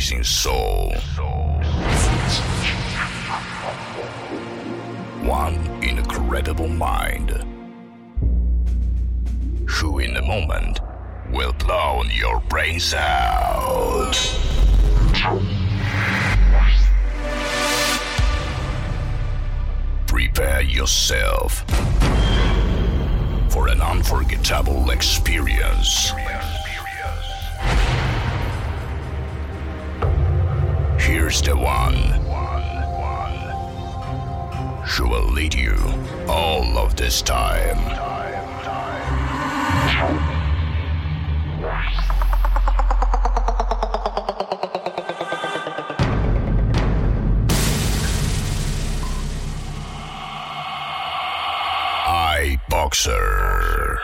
amazing soul. One incredible mind, who in a moment will blow your brains out. Prepare yourself for an unforgettable experience. Here's the one who will lead you all of this time. iBoxer.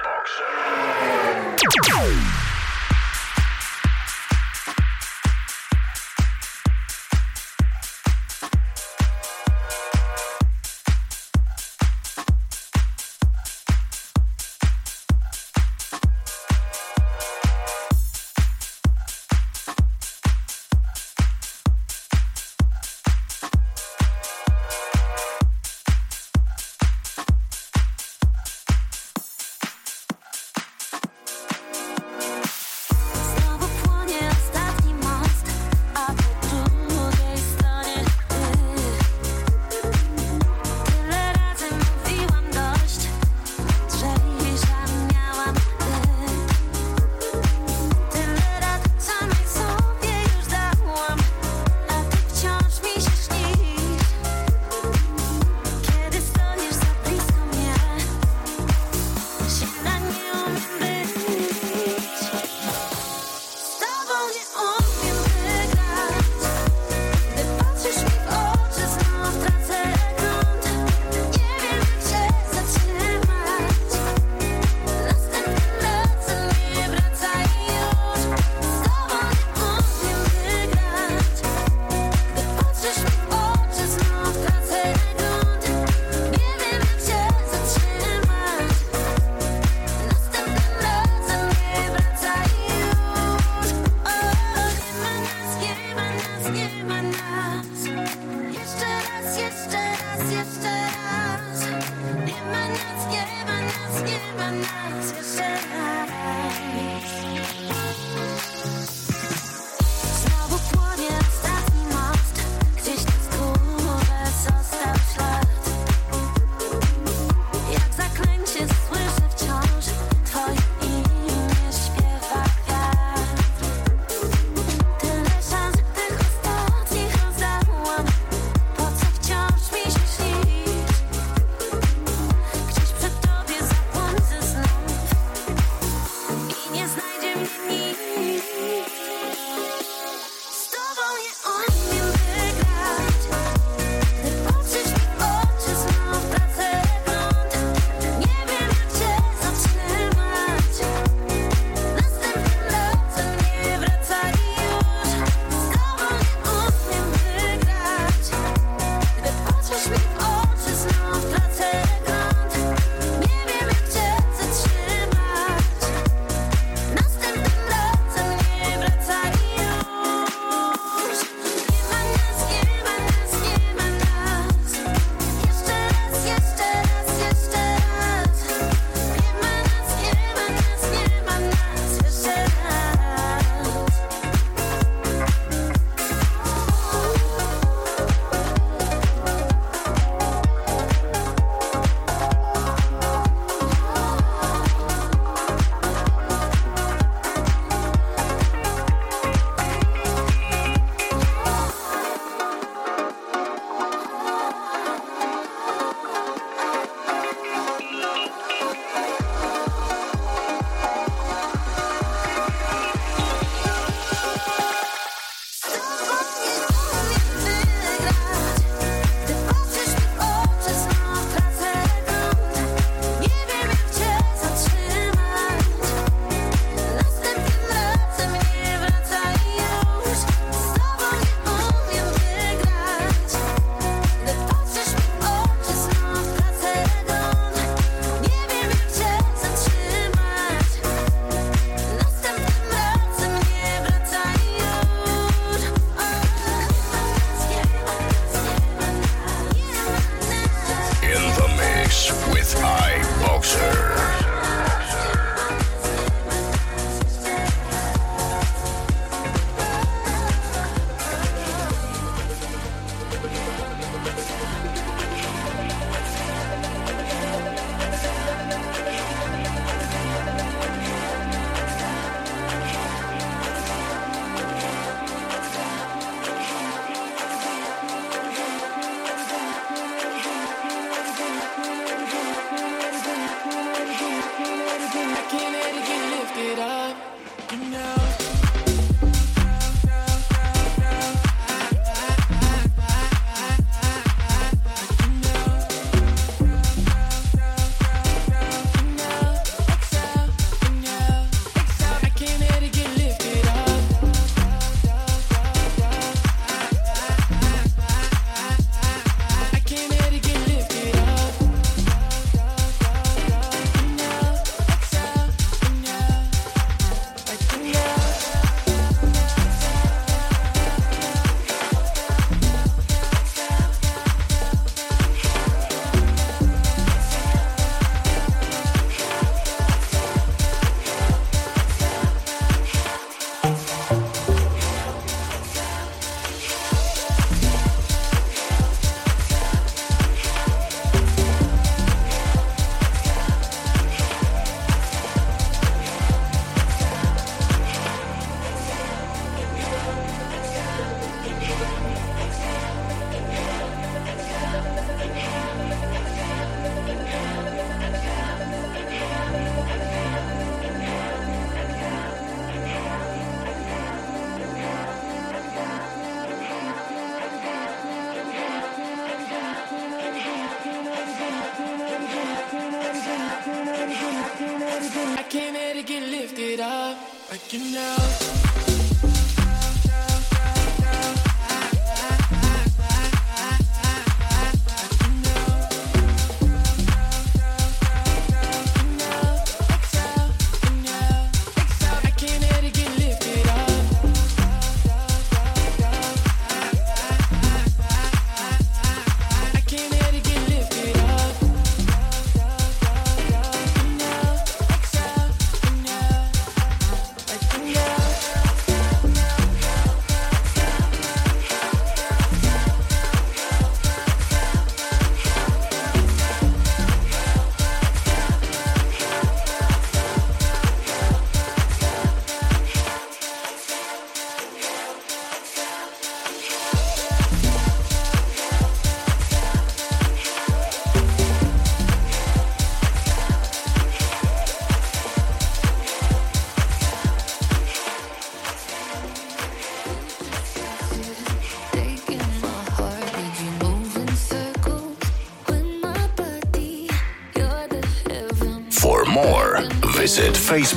Visit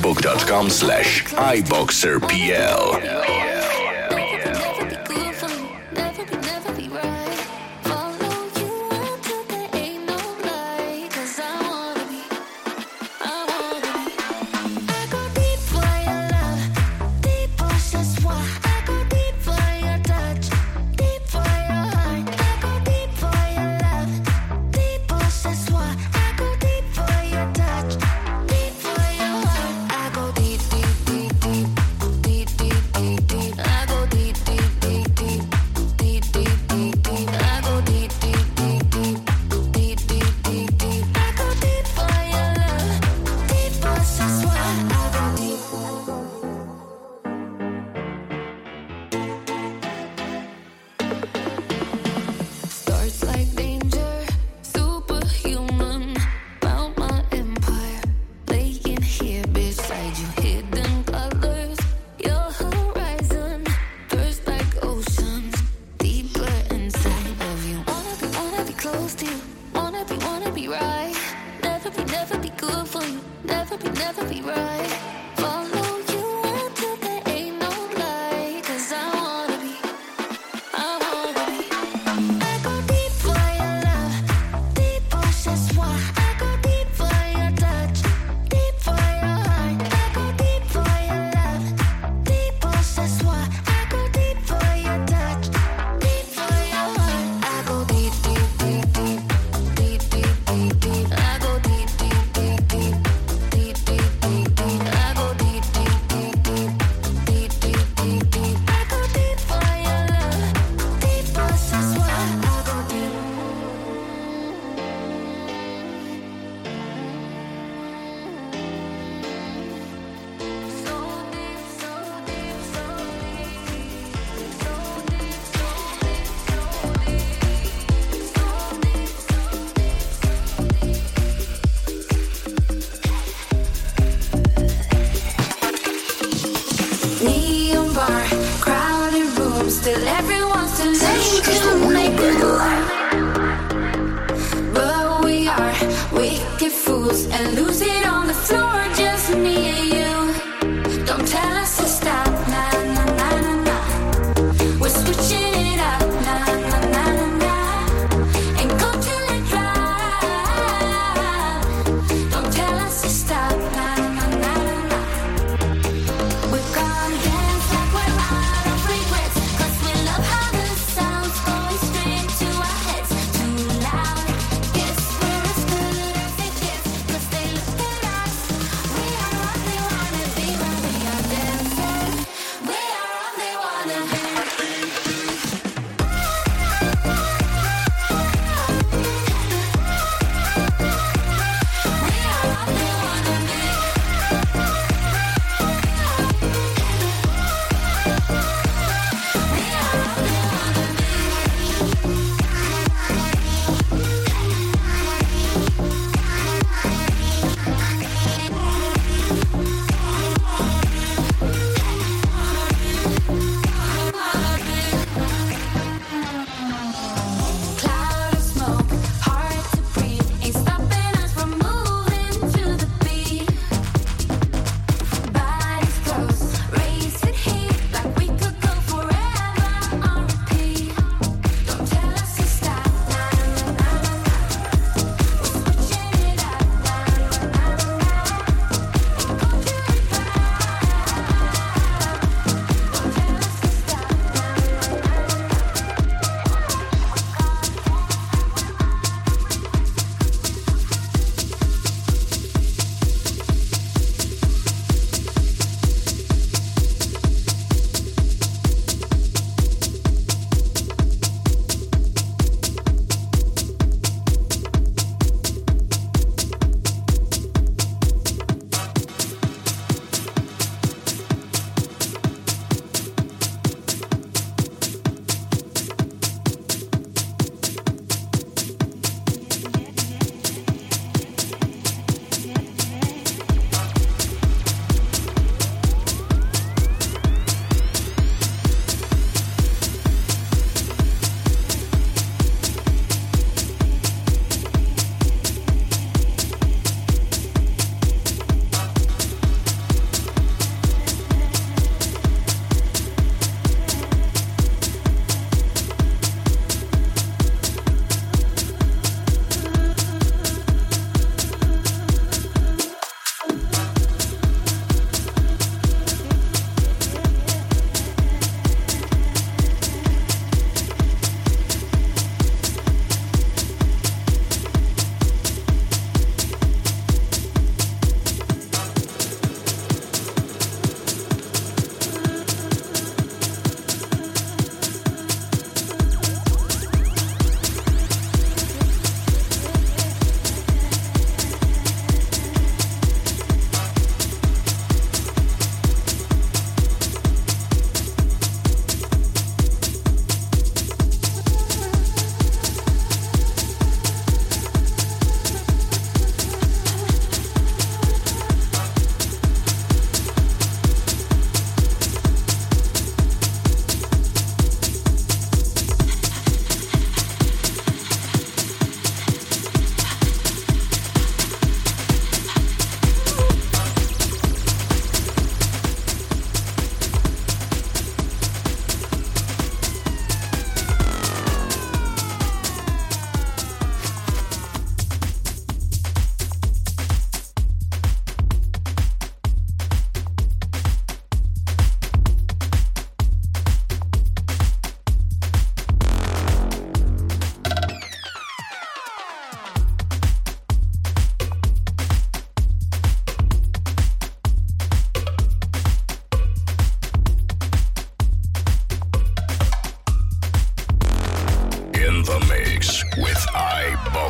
facebook.com/iboxerpl. And lose it on the floor, just me and you. Don't tell us to stop, nah, nah, nah, nah, nah. We're switching it up, nah, nah, nah, nah, nah. And go till it dry. Don't tell us to stop, nah, nah, nah, nah, nah. We're gonna dance like we're out of regrets, 'cause we love how the sound's going straight to our heads. Too loud, guess we're as good as it gets, 'cause they look at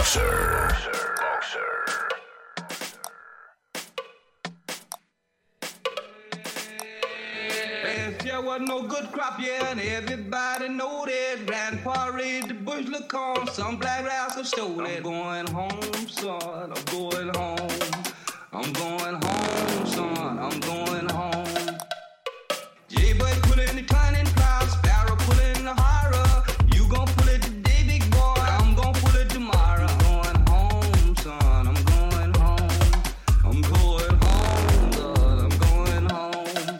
Boxer. There wasn't no good crop, yeah, and everybody know that. Grandpa raised the bushel of corn, some black rascal stole it. I'm going home, son, I'm going home. I'm going home, son, I'm going home. Jaybird pulling the turning plow, sparrow pulling the horror. You gon' pull it today, big boy, I'm gon' pull it tomorrow. I'm going home, son, I'm going home. I'm going home, son, I'm going home.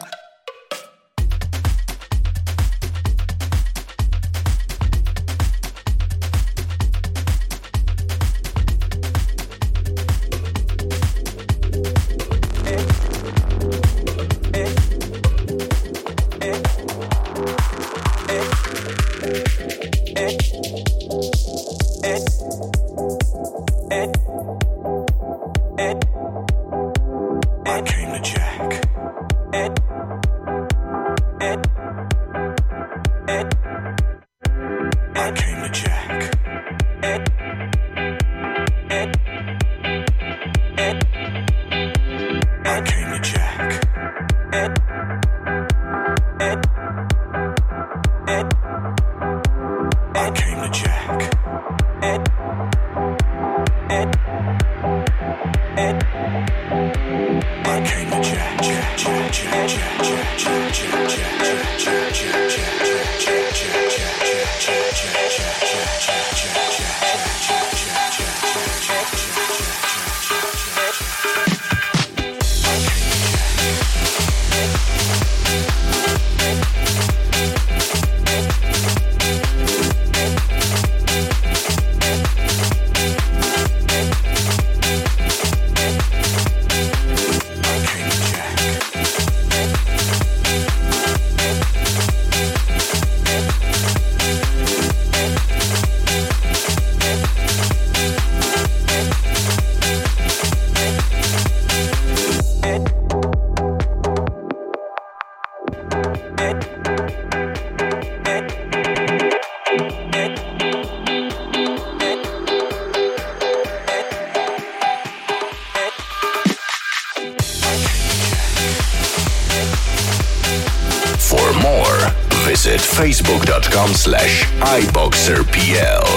Facebook.com/iBoxerPL.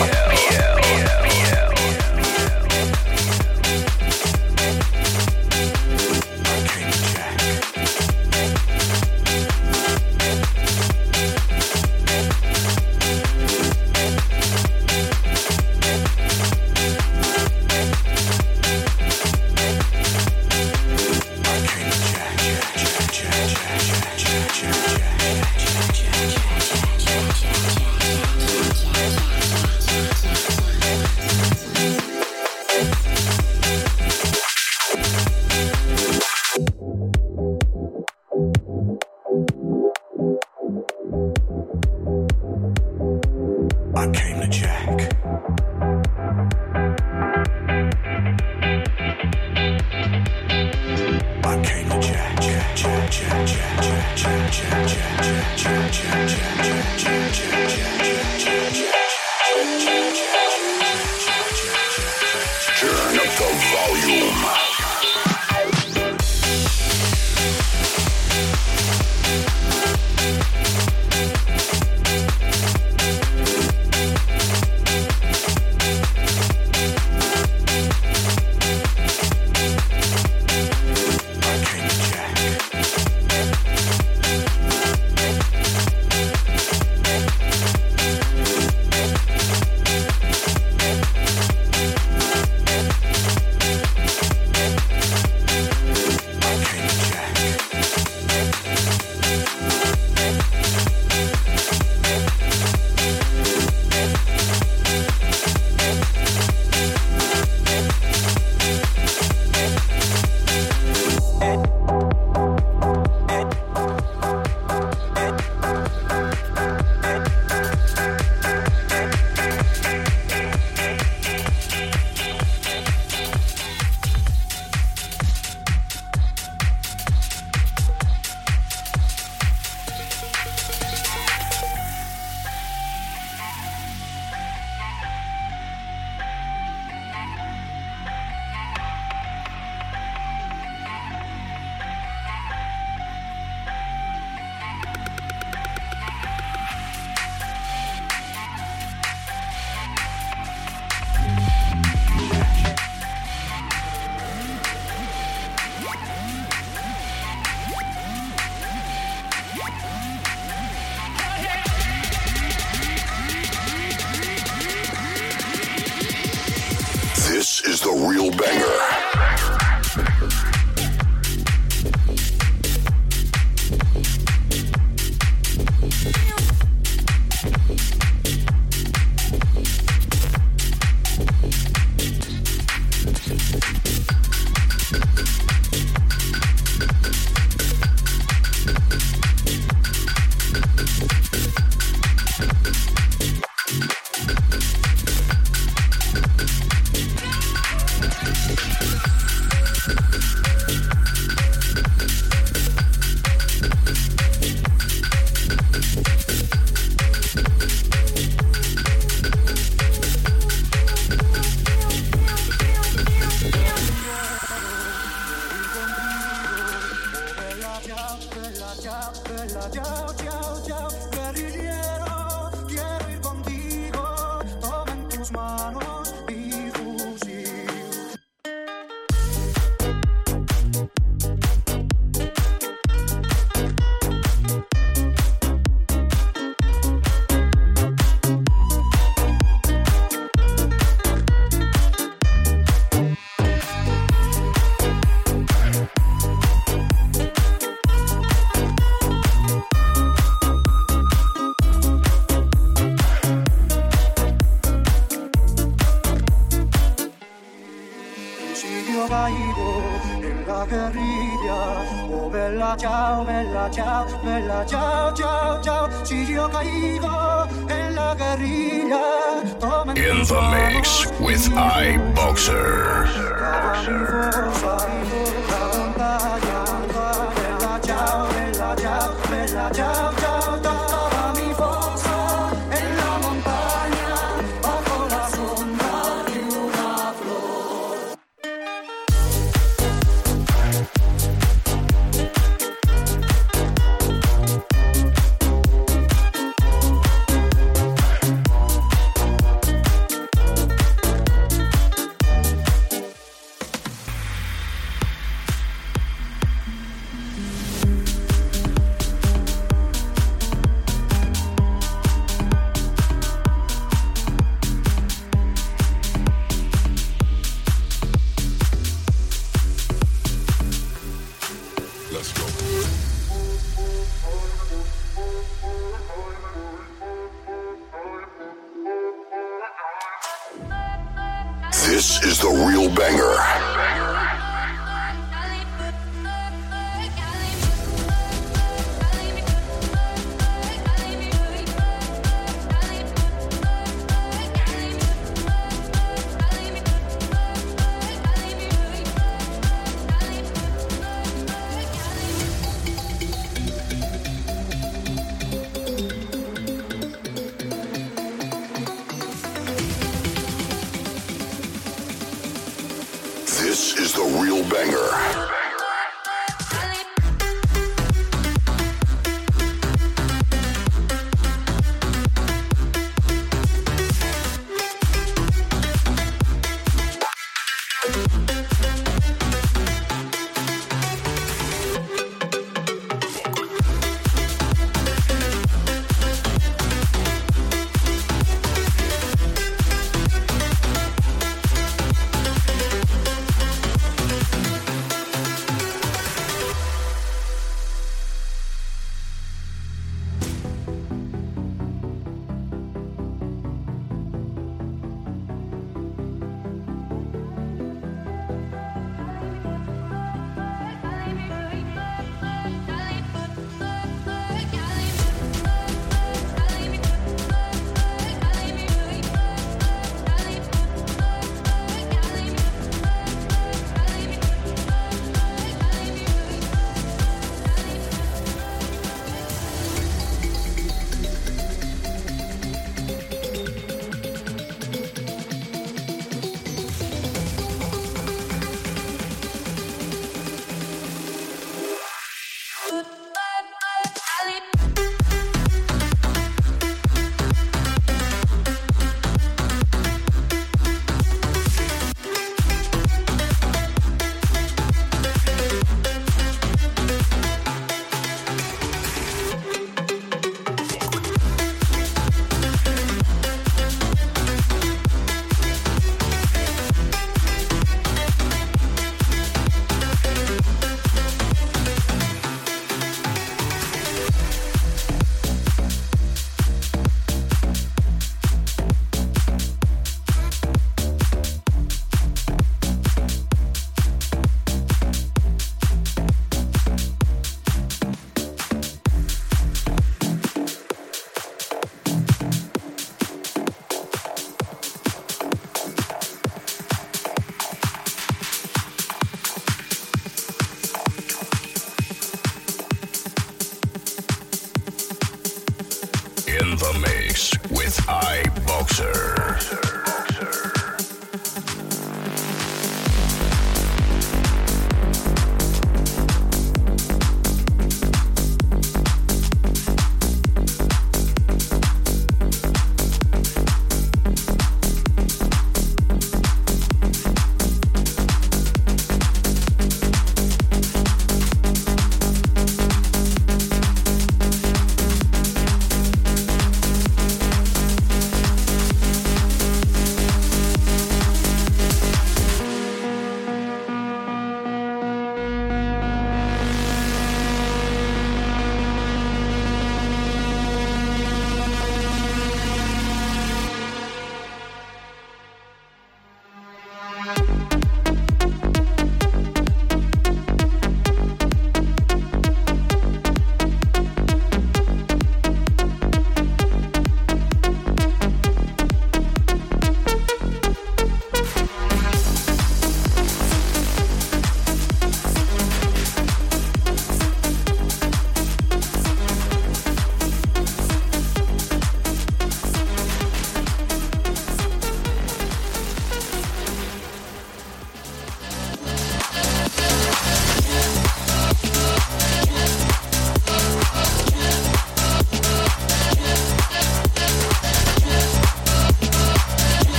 is the real banger. Ciao, bella ciao, ciao, ciao. Si io caigo en la guerrilla. In the mix with iBoxer. Bella ciao, bella ciao, bella ciao, ciao. Toccava mi fossa en la montagna bajo la sombra di una flor. This is the real banger. This is the real banger.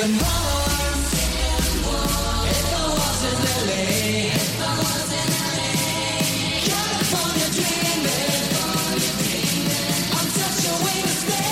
second warm. If I was in LA, California dreaming, I'm such a way to stay.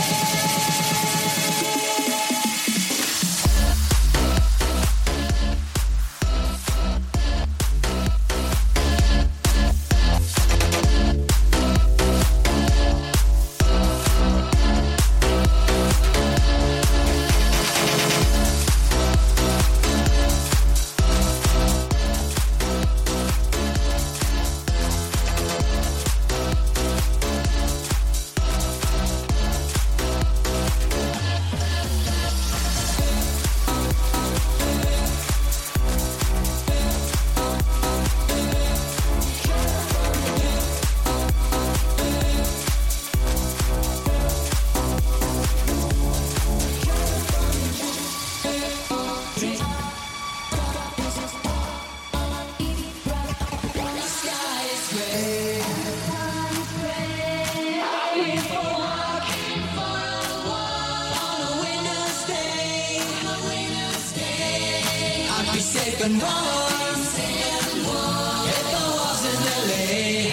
Second warm. If I was in LA,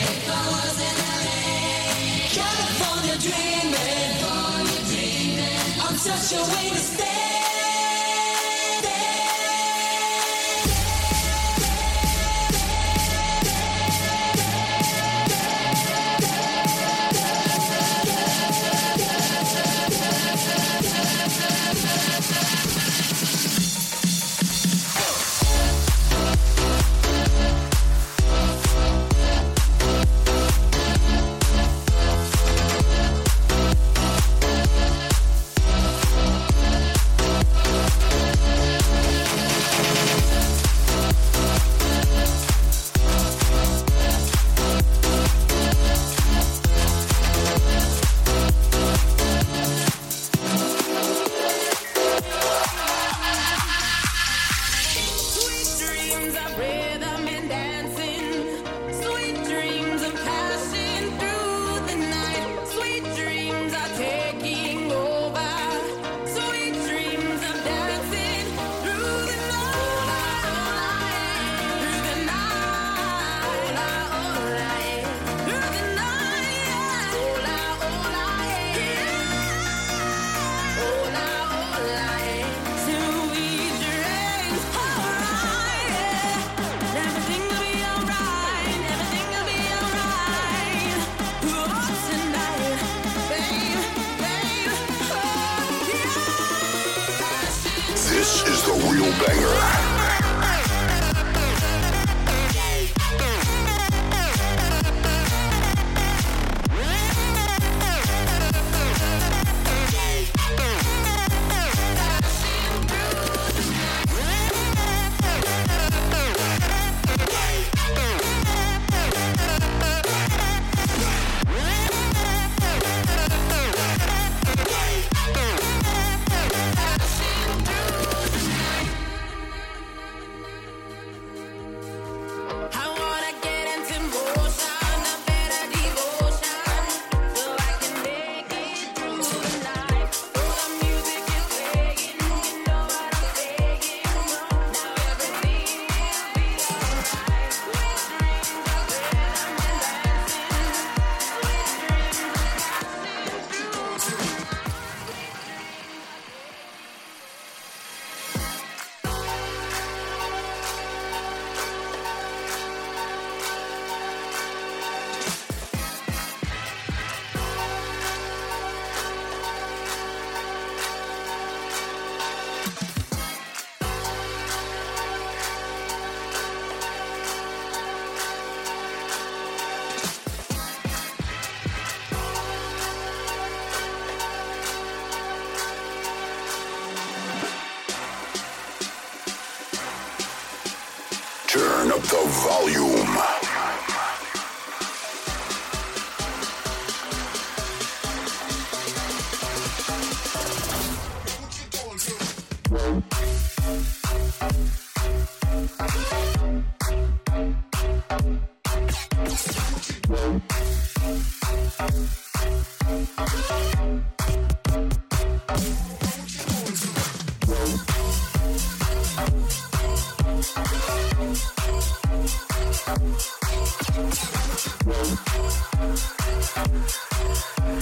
California dreaming, I'm such a way to stay. This is the real banger. Turn up the volume.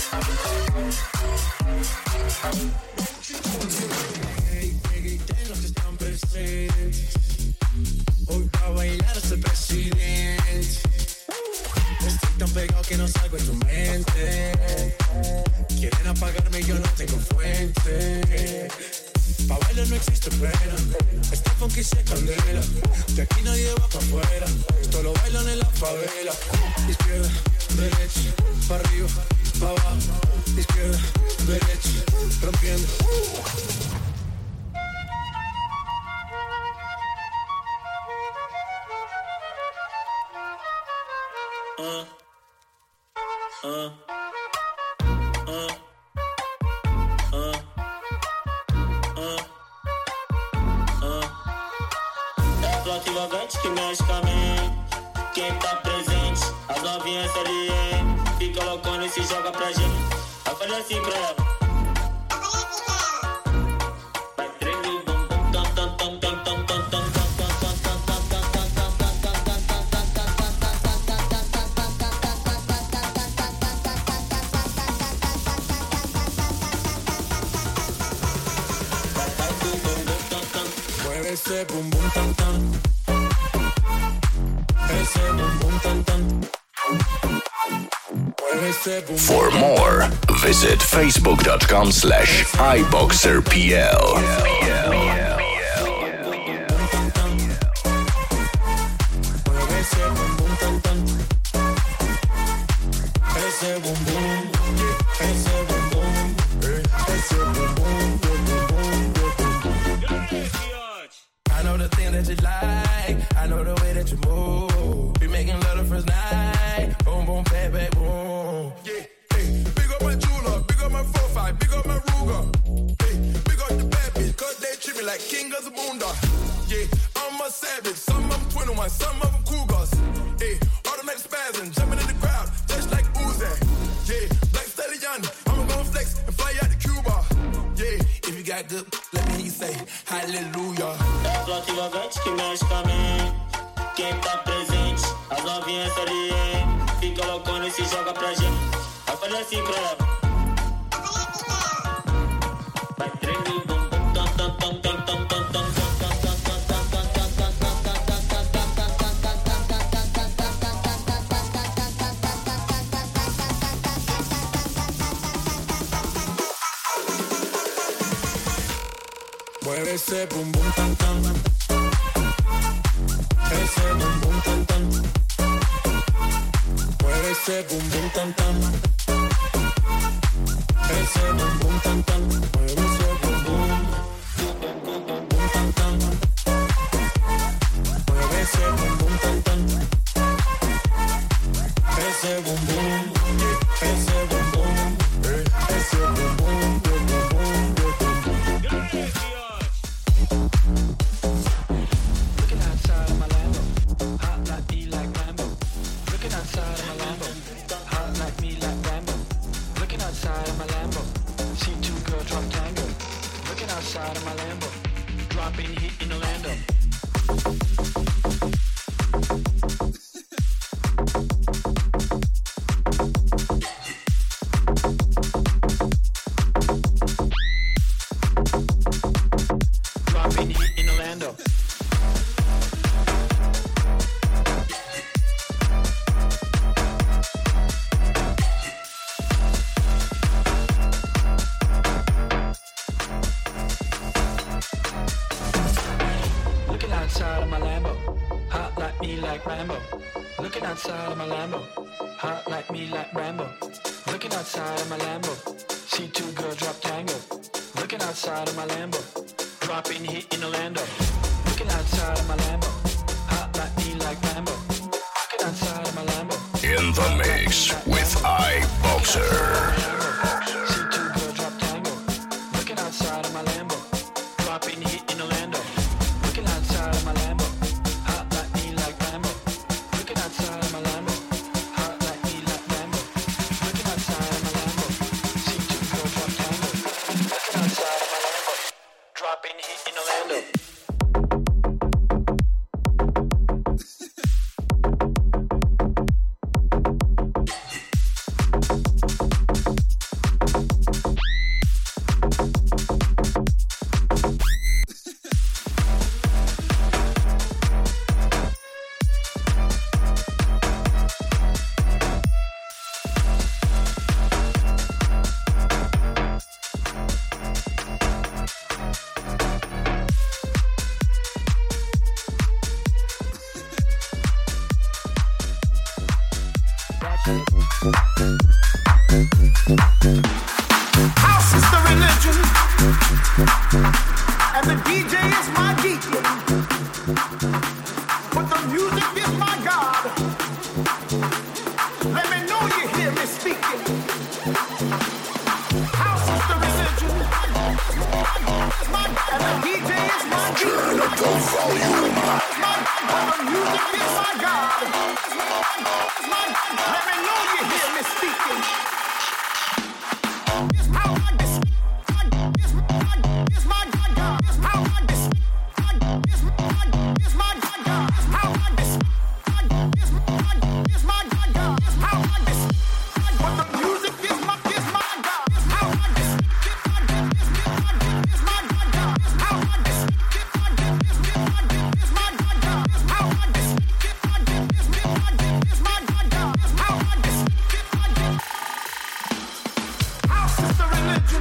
Tengo que estar presente. Hoy pa' bailar a ser presidente. Estoy tan pegado que no salgo de tu mente. Quieren apagarme y yo no tengo fuente. Pa' bailar no existe pena. Este funky se candela. De aquí nadie va pa' afuera. Esto lo bailan en la favela. Izquierda, derecha, pa' arriba, pa' abajo. Izquierda, derecha, rompiendo. Extravagante que mexe com a mente. Quem tá presente, as novinhas SLM. Fica loucona e se joga pra gente. Eu falei assim pra ela. Vai treme o bumbum, tam tam tam tam tam tam tam. Ese bum bum tam tam. Ese bum bum tam tam. For more, visit facebook.com/iboxerpl. I know the thing that you like. I know the way that you move. Be making love the first night. Boom, boom, bang, bang, boom. Yeah, hey, big up my jeweler, big up my 4-5, big up my Ruger. Hey, big up the bad bitch, cause they treat me like king of the boondock. Yeah, I'm a savage. Some of them 21, some of them cougars. Hey, automatic spasm, jumping in the crowd, just like Uzi. Yeah, Black Stallion, I'ma go flex and fly out to Cuba. Yeah, if you got good, let me hear you say hallelujah. Extravagante que mexe com a mente. Quem tá presente, as novinhas SLM. Fica loucona e se joga pra gente. Eu falei assim pra ela. Vai tremer o bumbum, tam tam tam tam tam tam tam. Mueve ese bum bum tam tam. Ese bum bum tam tam. Mueve ese bum bum tam tam. Ese bum bum tam tam. Mueve ese bum bum. Bum tam tam. Mueve ese bum bum tam tam. Ese bum bum. Ese bum bum. Ese bum bum. Outside of my Lambo, dropping heat in Orlando. Dropping heat in Orlando. Outside of my Lambo, hot like me like Rambo. Looking outside of my Lambo, hot like me like Rambo. Looking outside of my Lambo, see two girls drop tango. Looking outside of my Lambo, dropping heat in Orlando. Looking outside of my Lambo, hot like me like Rambo. Looking outside of my Lambo. In the mix with iBoxer. See two girls drop tango. Looking outside of my Lambo, dropping heat in Orlando. Looking outside of my Lambo, hot like me like Rambo. Looking outside of my Lambo, hot like me like Rambo. Looking outside of my Lambo, see two girls drop tango. Looking outside of my Lambo, dropping heat in Orlando. House is the religion. And the DJ is my Turn up the volume. the music is my God. Let me know you hear me speaking. It's how I dis. It's my God. It's how I dis. It's my God. It's how I dis. It's my God. It's how I dis. But the music is my God. It's how I dis. It's my God. It's how I dis. It's my God. It's how I dis. It's my God. It's how I dis. House is the religion,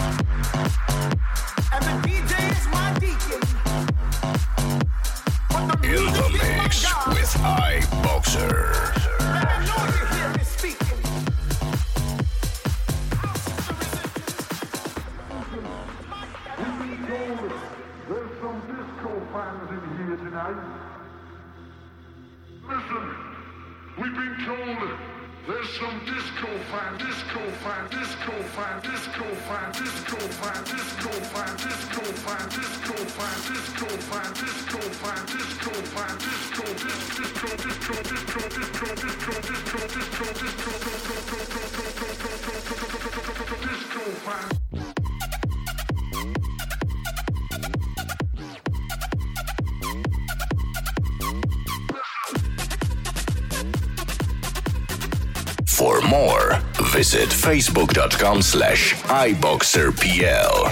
and the DJ is my deacon. But the In music the is my mix God. with iBoxer. Let me know you hear me speaking. There's some disco fans in here tonight. Listen, we've been told there's some disco fan, disco fan, disco fan, disco fan, disco fan, disco fan, disco fan, disco fan, disco fan, disco fan, disco fan, disco, disco, disco, disco, disco, disco, disco, disco, disco fan. For more, visit facebook.com/iBoxerPL.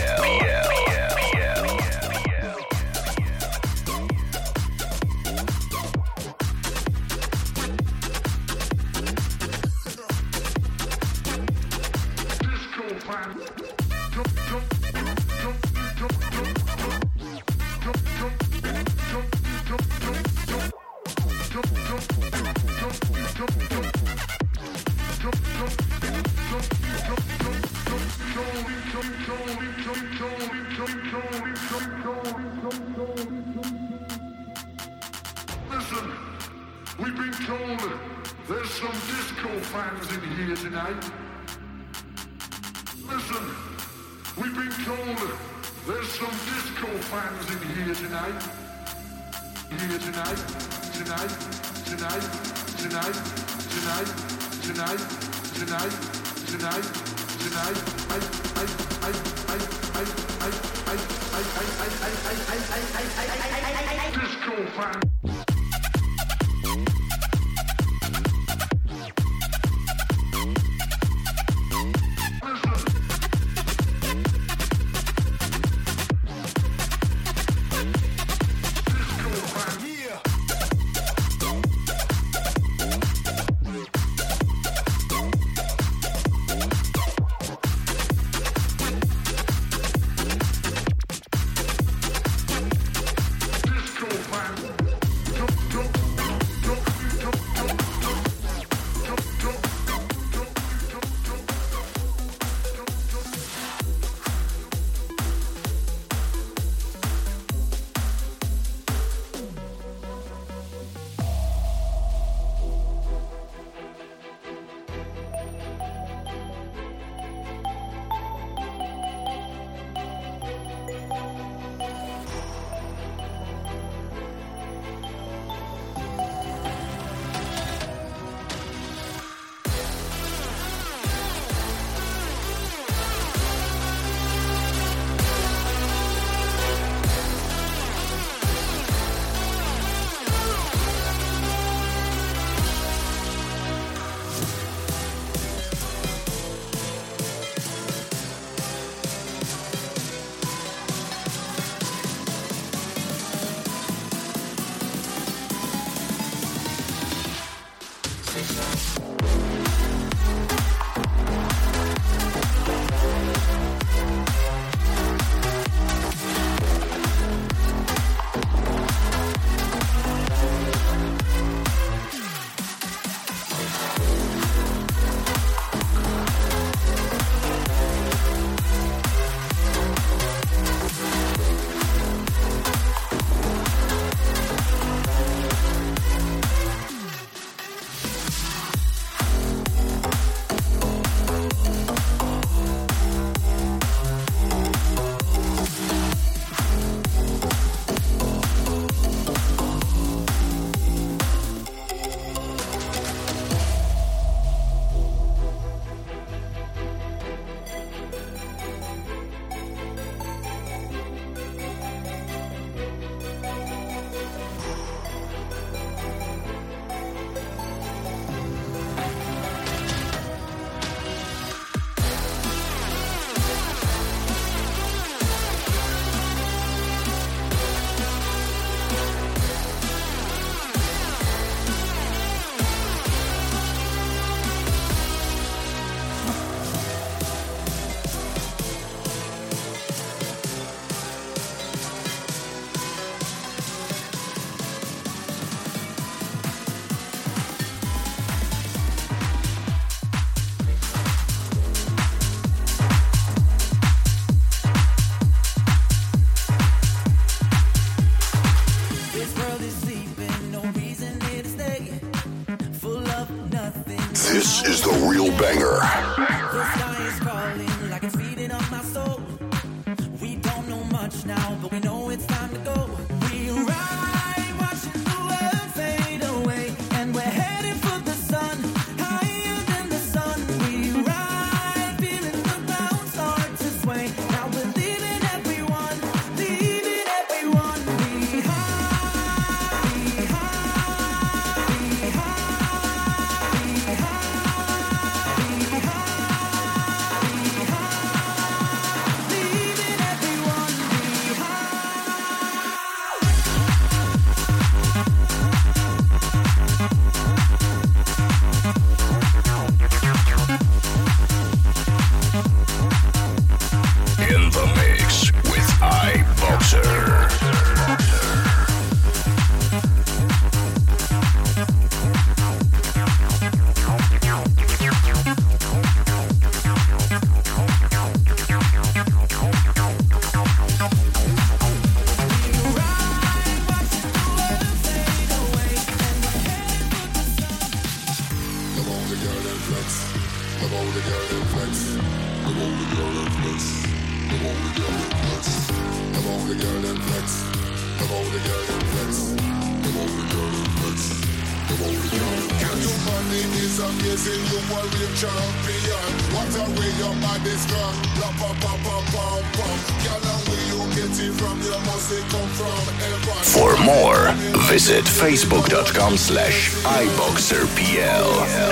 Listen, we've been told there's some disco fans in here tonight. Listen, we've been told there's some disco fans in here tonight. Here tonight, tonight, tonight, tonight, tonight, tonight, tonight, tonight, tonight. Disco fan. Disco fan. flex. Come on, the girl them flex. Come on, the girl them flex. Come on, the girl them flex. Girl, your body is amazing. You a real champion. What a way your body's gone. La pa pa pa pam pam. Girl, and where you get it from? You must say come from heaven. For more, visit facebook.com/iboxerpl.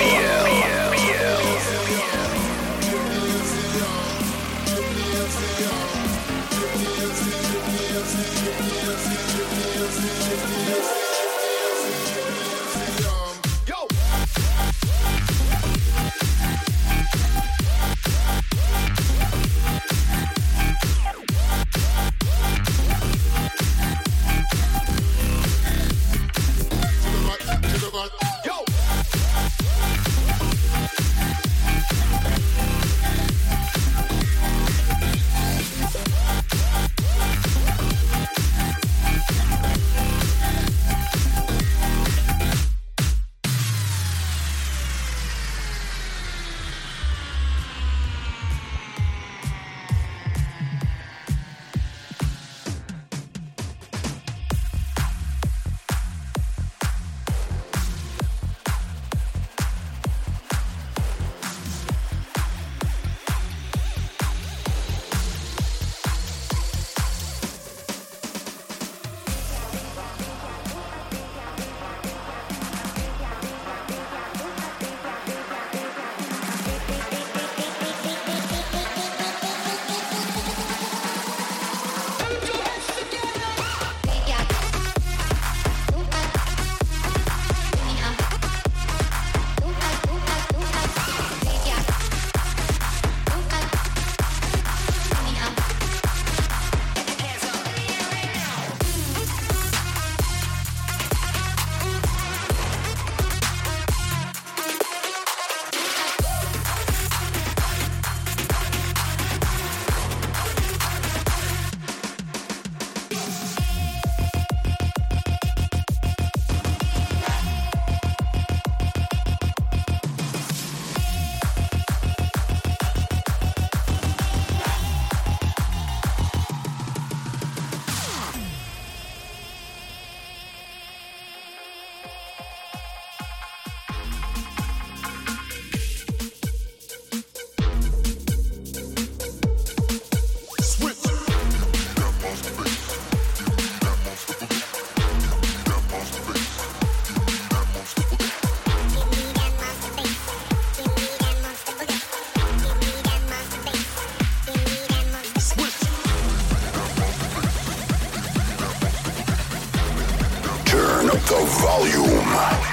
the volume.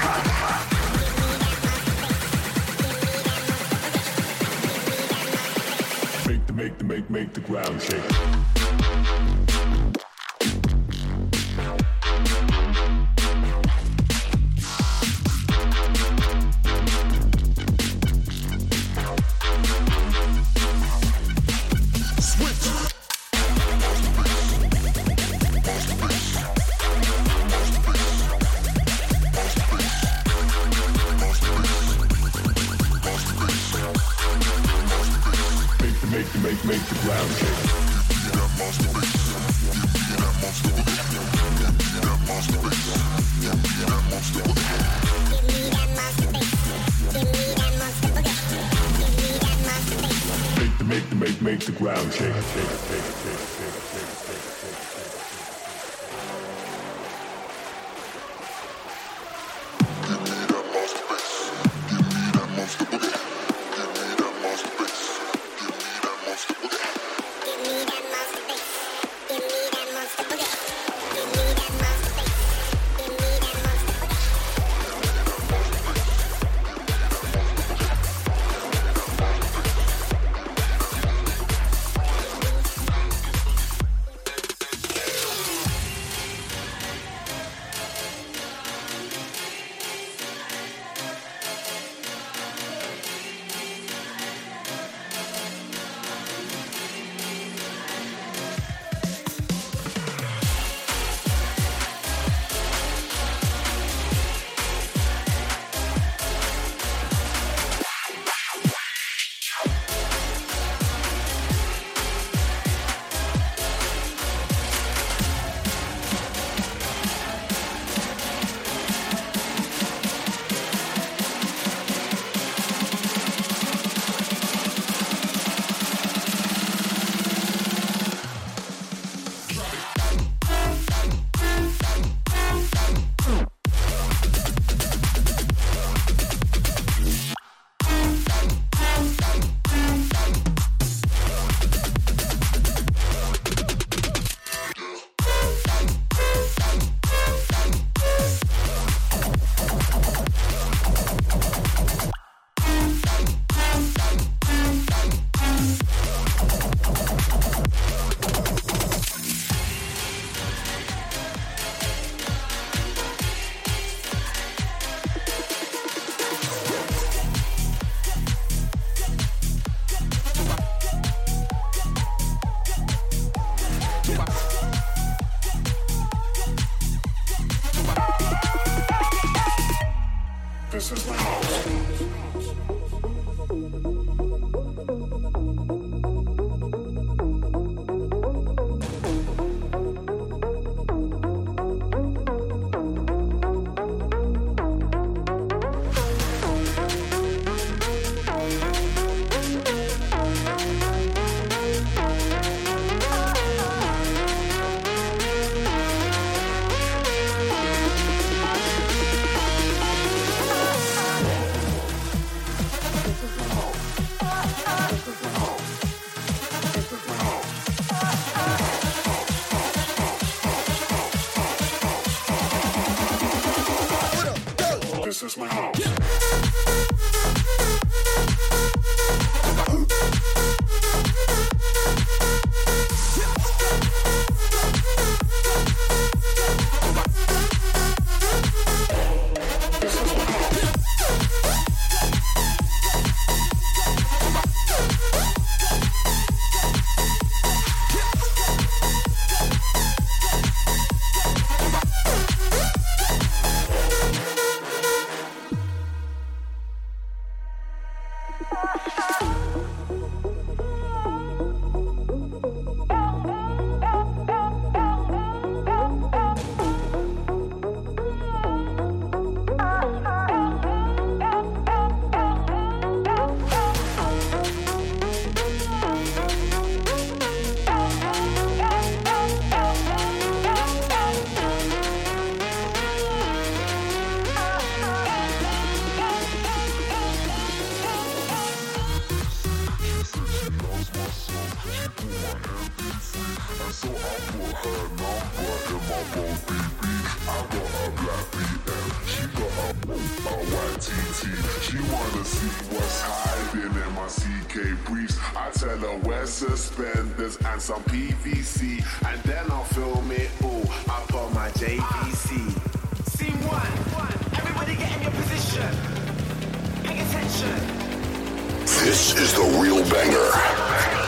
Make the ground shake. Make the ground shake. Make the ground shake. This is my house. This is my house. She wanna see what's hiding in my CK briefs. I tell her wear suspenders and some PVC, and then I'll film it all up on my JVC. Scene one. Everybody get in your position. Pay attention. This is the real banger.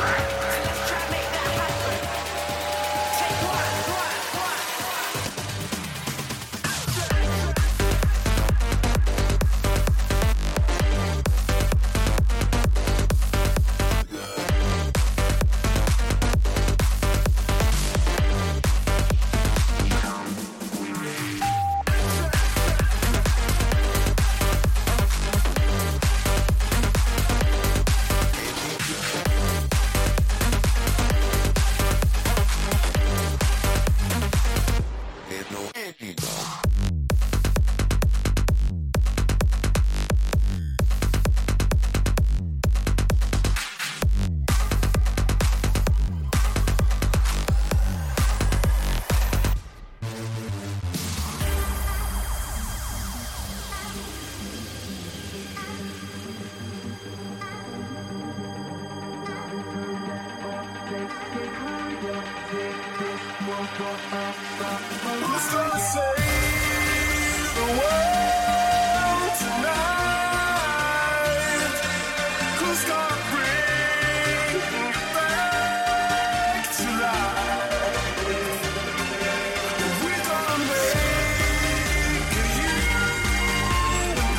Who's gonna save the world tonight? Who's gonna bring it back to life? We're gonna make you and I.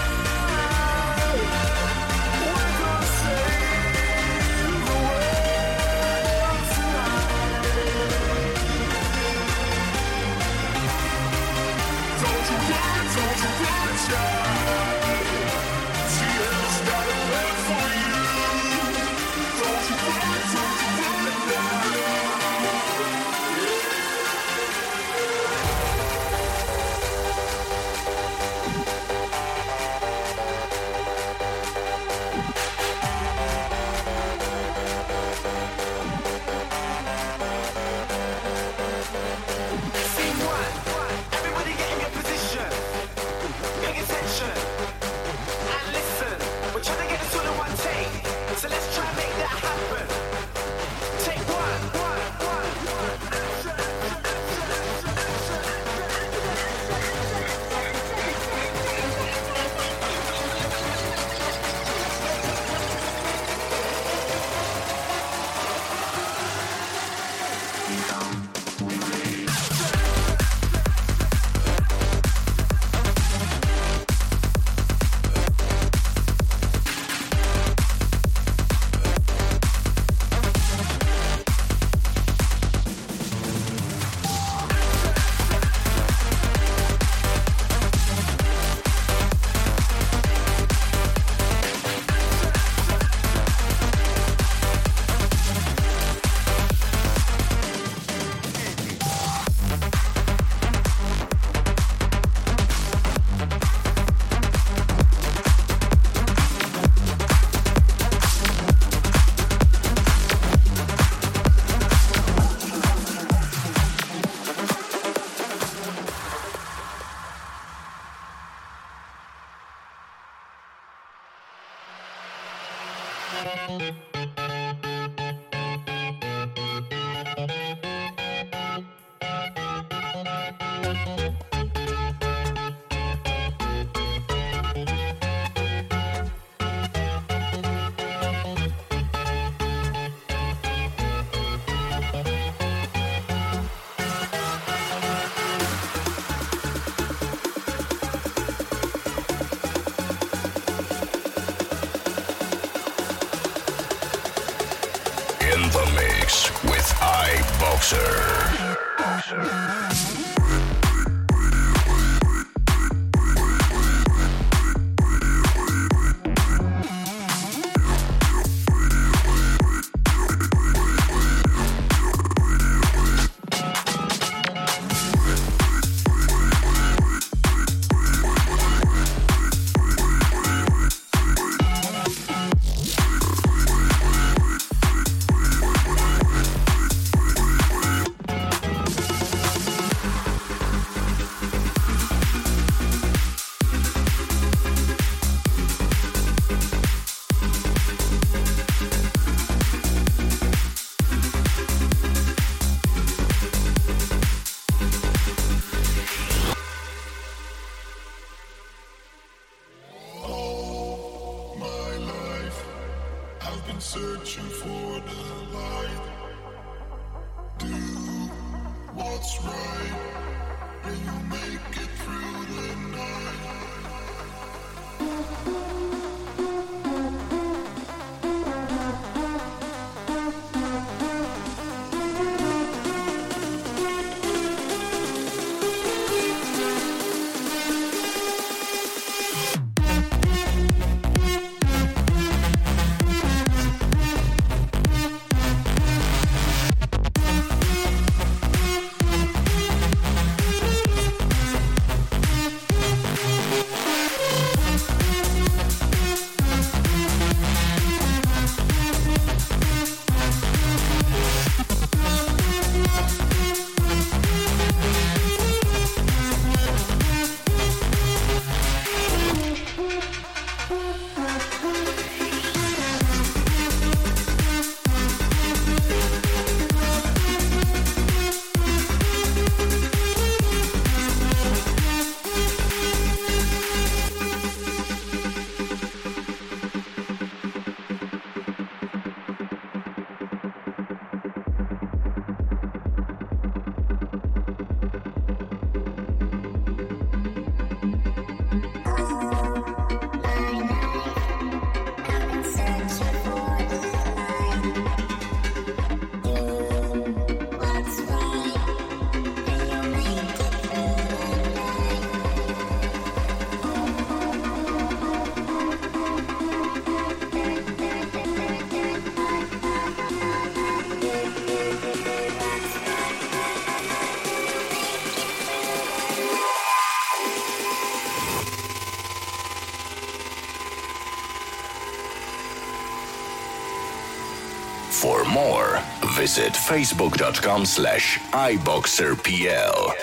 We're gonna save the world tonight. Don't you worry, mix with iBoxer. Searching for the light. Do what's right, and you make it through the night. For more, visit facebook.com/iBoxerPL.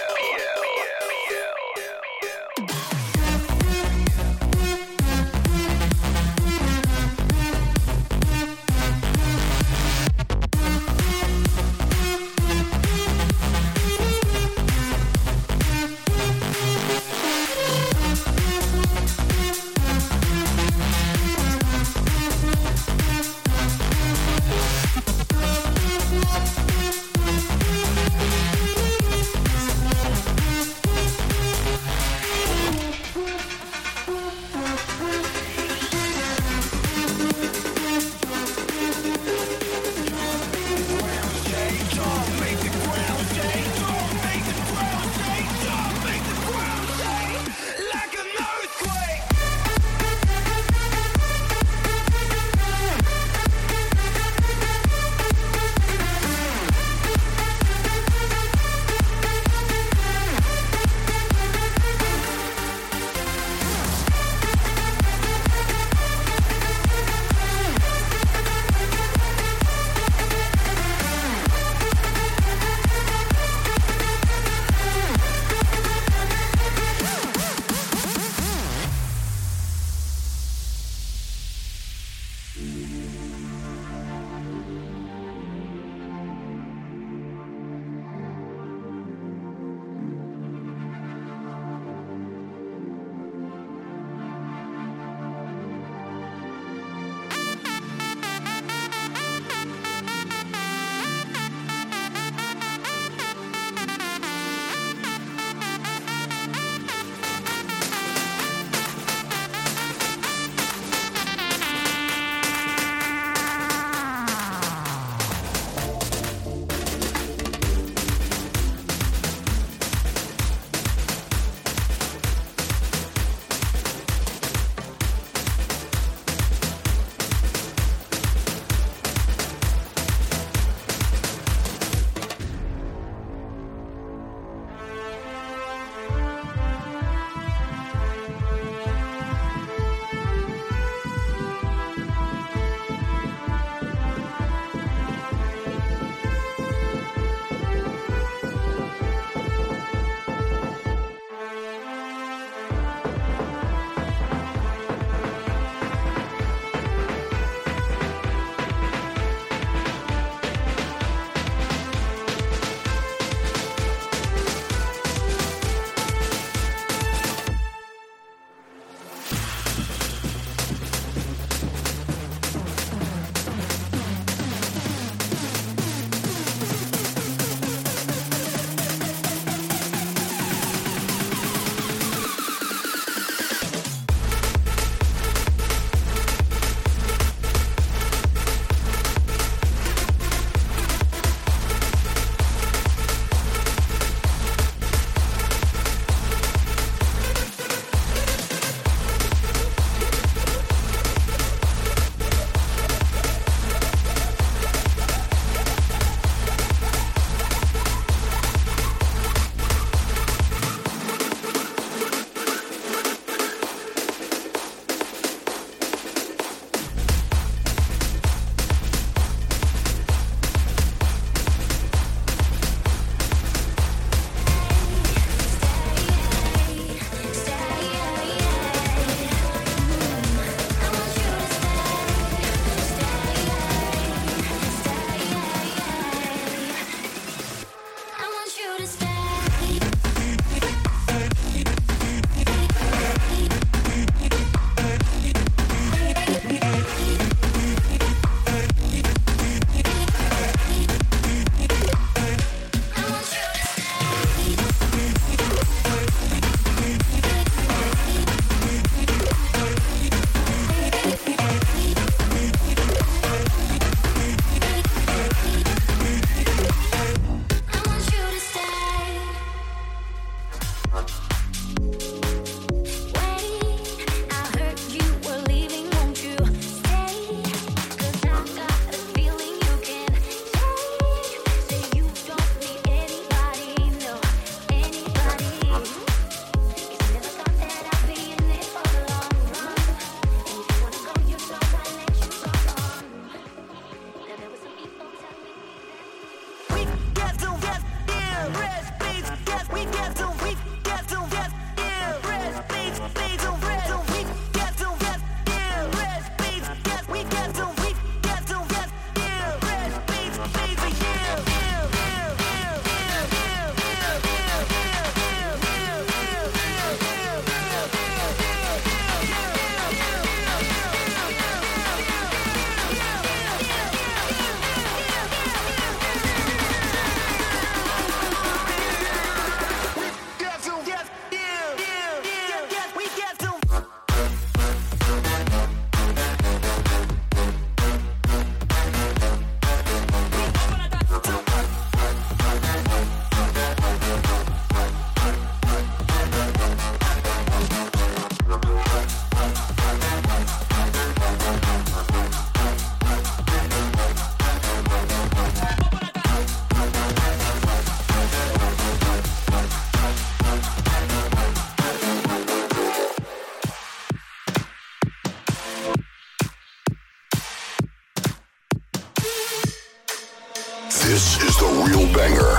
This is the real banger.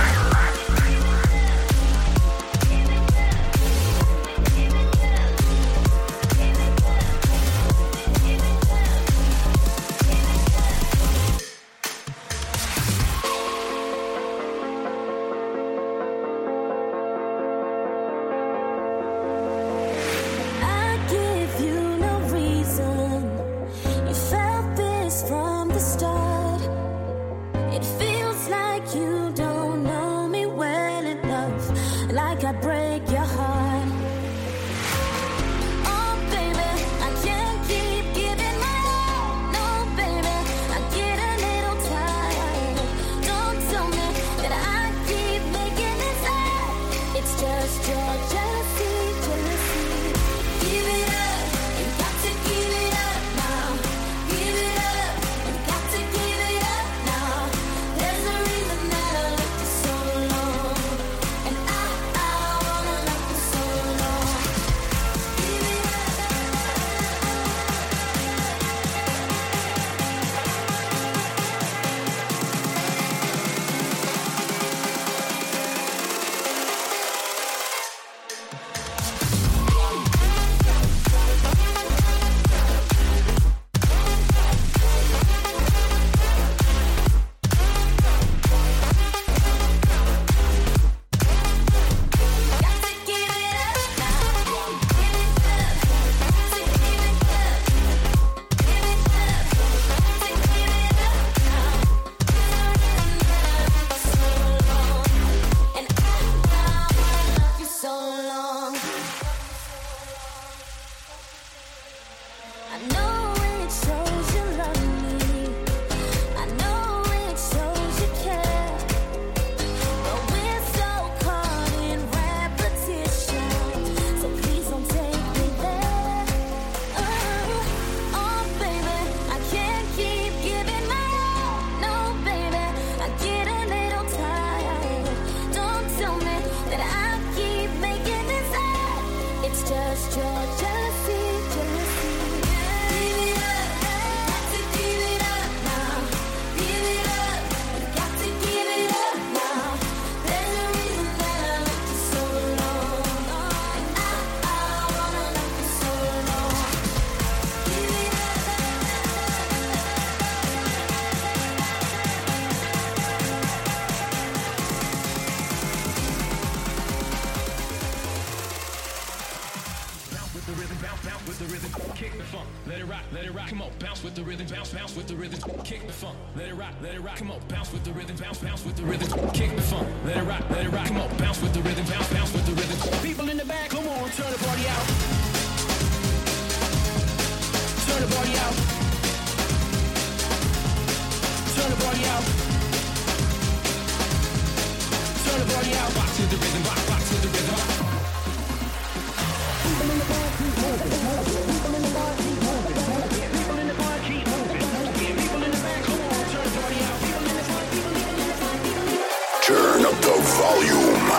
Turn up the volume.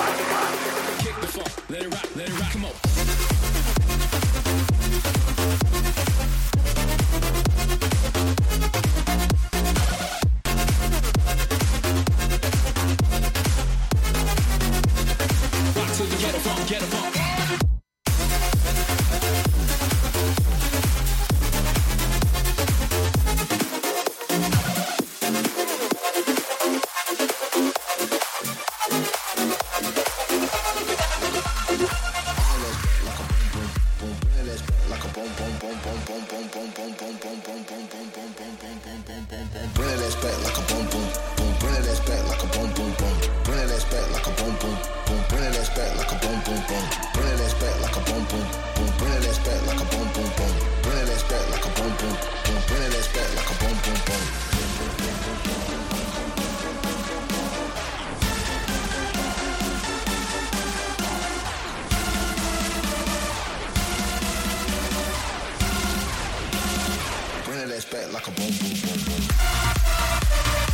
Kick the funk, let it rock, come on. Rock to the get a funk, get a funk. Like a boom, boom, boom, boom.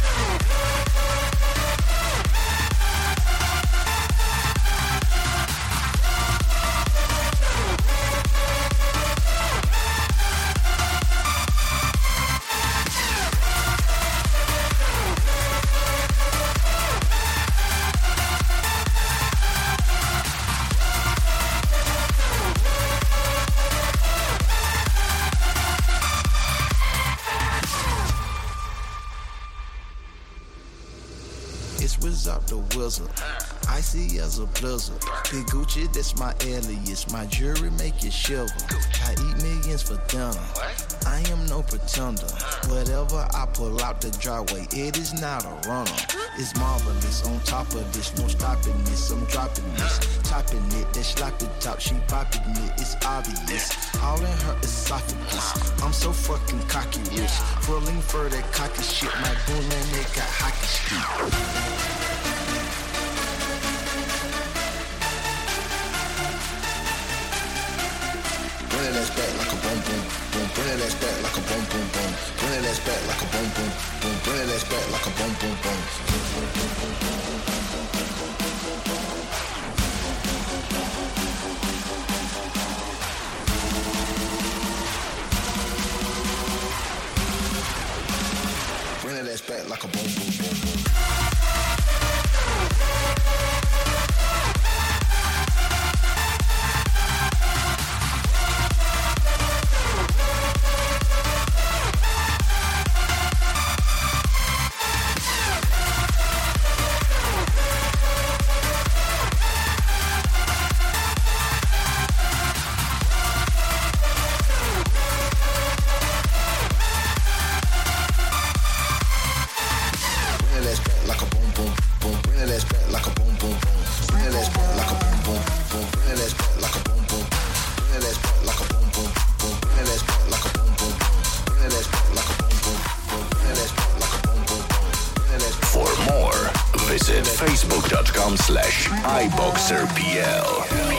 It's Wizard the Wizard. Icy as a blizzard. Big Gucci, that's my alias. My jewelry make you shiver. I eat millions for dinner. I am no pretender. Whatever I pull out the driveway, it is not a runner. It's marvelous. On top of this, no stopping this. I'm dropping this, topping it. That sloppy top, she popping it. It's obvious. All in her esophagus. I'm so fucking cocky rich. Pulling for that cocky shit. My goon and they got hockey stick. Bring that ass back like a boom boom boom. Bring that ass back like a boom boom boom. Bring that ass back like a boom boom boom. Bring that ass back like a boom boom boom. Bring that ass back like a boom boom boom boom. Facebook.com/iBoxerPL.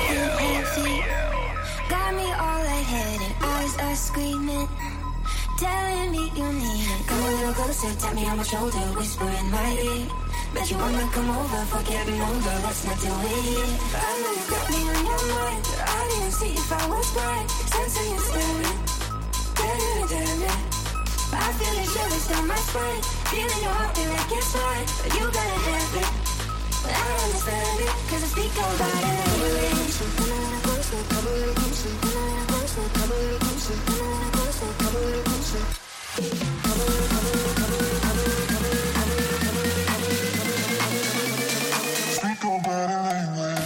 Got me all lightheaded, eyes are screaming, telling me you need it. Come a little closer, tap me on my shoulder, whisper in my ear. Bet you wanna come over, forget me older, let's not do it here. I know you got me on your mind, I didn't see if I was blind. Sensing you staring, damn it. I feel it shivers down my spine, feeling your heartbeat like it's mine. But you gotta have it, but I understand it, cause I speak about it anyway. Come a little closer, come a little closer, come a little closer, come a little closer, come a little closer, come a little closer. Come a little, come a little, come a little, come a little, come a little, come a little, come a little, come a little, come a little. Speak about it anyway.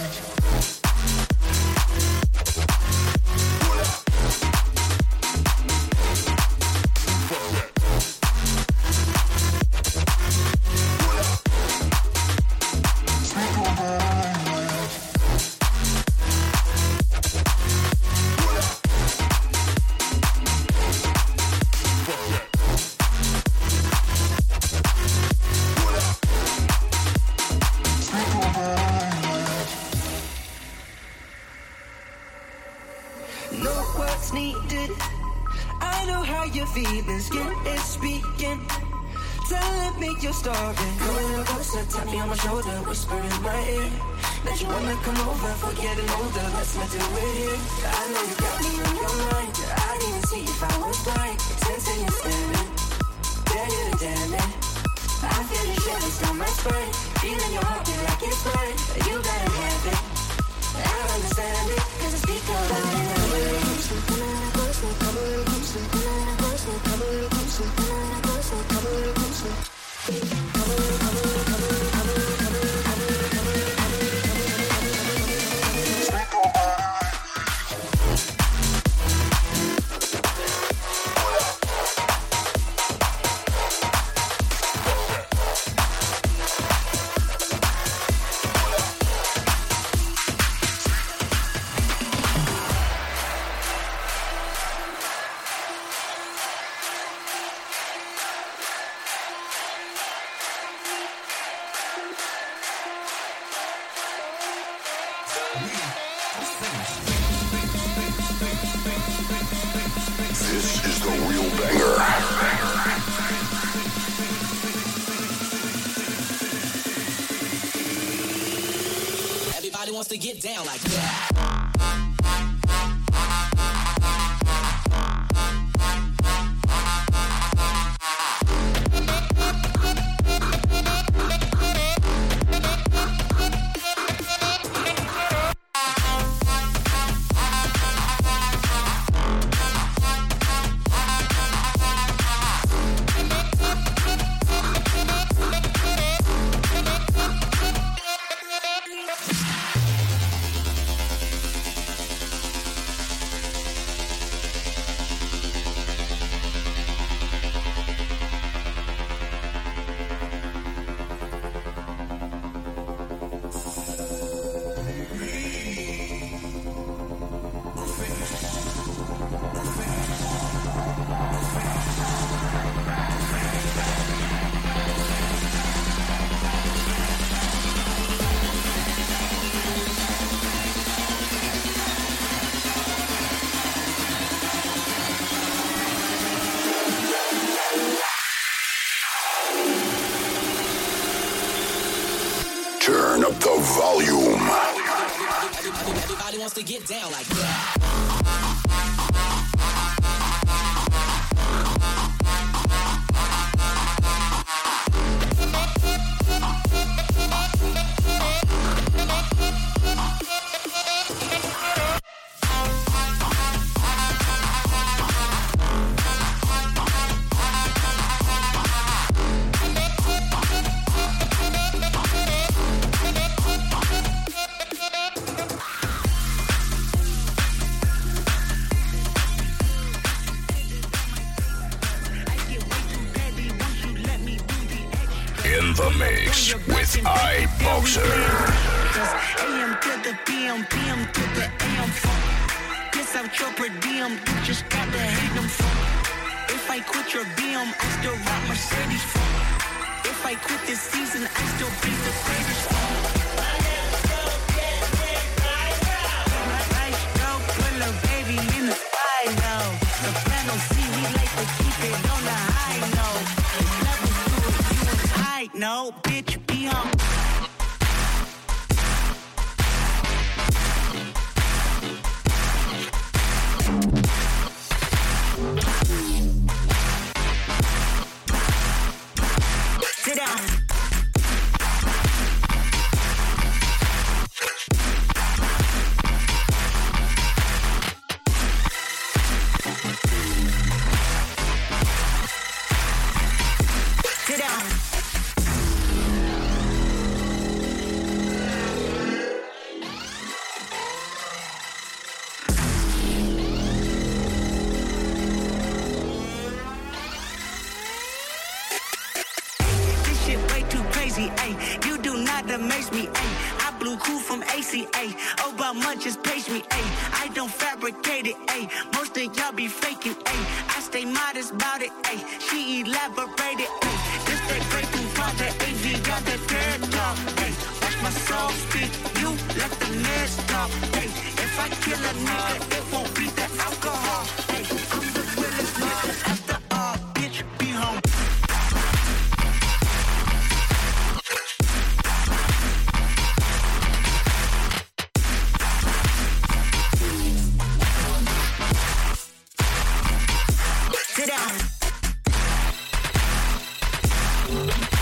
Come a little closer, tap me on my shoulder, whisper in my ear. Bet you wanna come over, forgetting older, let's not do it here. I know you got me on your mind, I didn't see if I was blind. Sensing you staring, damn it. I feel the shivers down my spine, feeling your heartbeat like it's mine. You gotta have it, I understand it, cause I speak about it anyway. Come a little closer, come a little closer, come a little closer, come a little closer, come a little closer, come a little closer. This is the real banger. Everybody wants to get down like that. Turn up the volume. Everybody wants to get down like that. In the mix with iBoxer. AM to the PM, PM to the AM phone. Piss out your per diem, you just gotta hate them phone. If I quit your BM, I still rock Mercedes phone. If I quit this season, I still be the greatest phone. Nice dope, put a baby in the sky now. The plan don't see, we like to keep it on the high note. No, bitch, be on. Sit down. Sit down. Ay, you do not amaze me, ay. I blew cool from ACA. Obama just page me, ay. I don't fabricate it, ay. Most of y'all be faking, ay. I stay modest about it, ay. She elaborated, ay. This that breaking project, AV got that dirt talk, ay. Watch my soul speak, you let the mess talk, ay. If I kill a nigga, it won't be the alcohol, ay. I'm the realest nigga after all, bitch, be home. Sit down.